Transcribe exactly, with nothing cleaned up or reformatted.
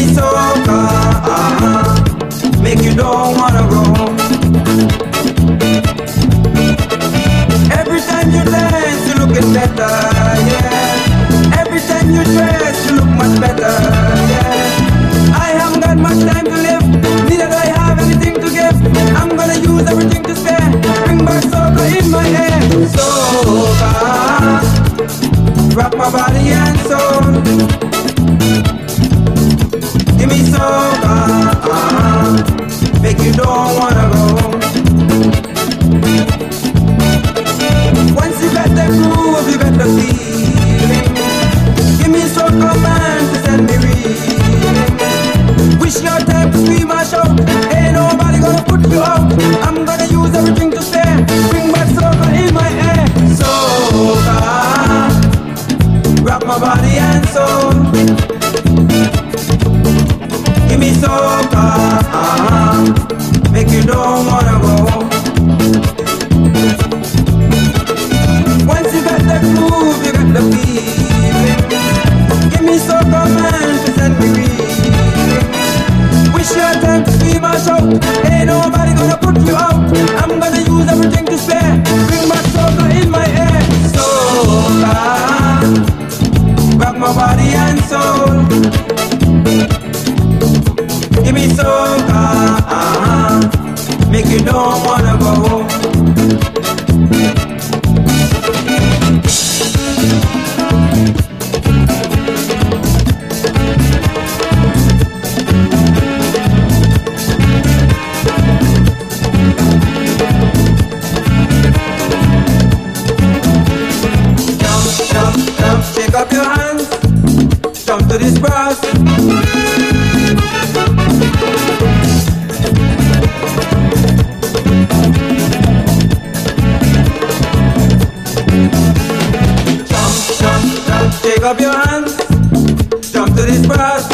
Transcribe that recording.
me soca, uh-huh. Make you don't wanna go. Every time you dance, you looking better, yeah. Every time you dress, you look much better, yeah. I haven't got much time to live, neither do I have anything to give. I'm gonna use everything to spare. Bring back soca in my hair. Soca, rock my body and soul. Give me soca, uh-huh. Make you don't wanna go. Once you got that groove, you got the feeling. Give me soca man to send me reeling. Wish your time to scream or shout. Ain't nobody gonna put you out. I'm gonna use everything to spare. Bring back soca in my hair. Soca, rock my body and soul. Give me soca, uh-huh. Make you don't wanna go. Once you got the groove, you got the feeling. Give me soca man to send me reeling. Wish your time to scream or shout. Ain't nobody gonna put you out. I'm gonna use everything to spare. Bring back soca in my hair. Soca, rock my body and soul. Give me soca, uh-huh. Make you don't wanna go. Shake up your hands, jump to this brass. Jump, jump, jump, shake up your hands, jump to this brass.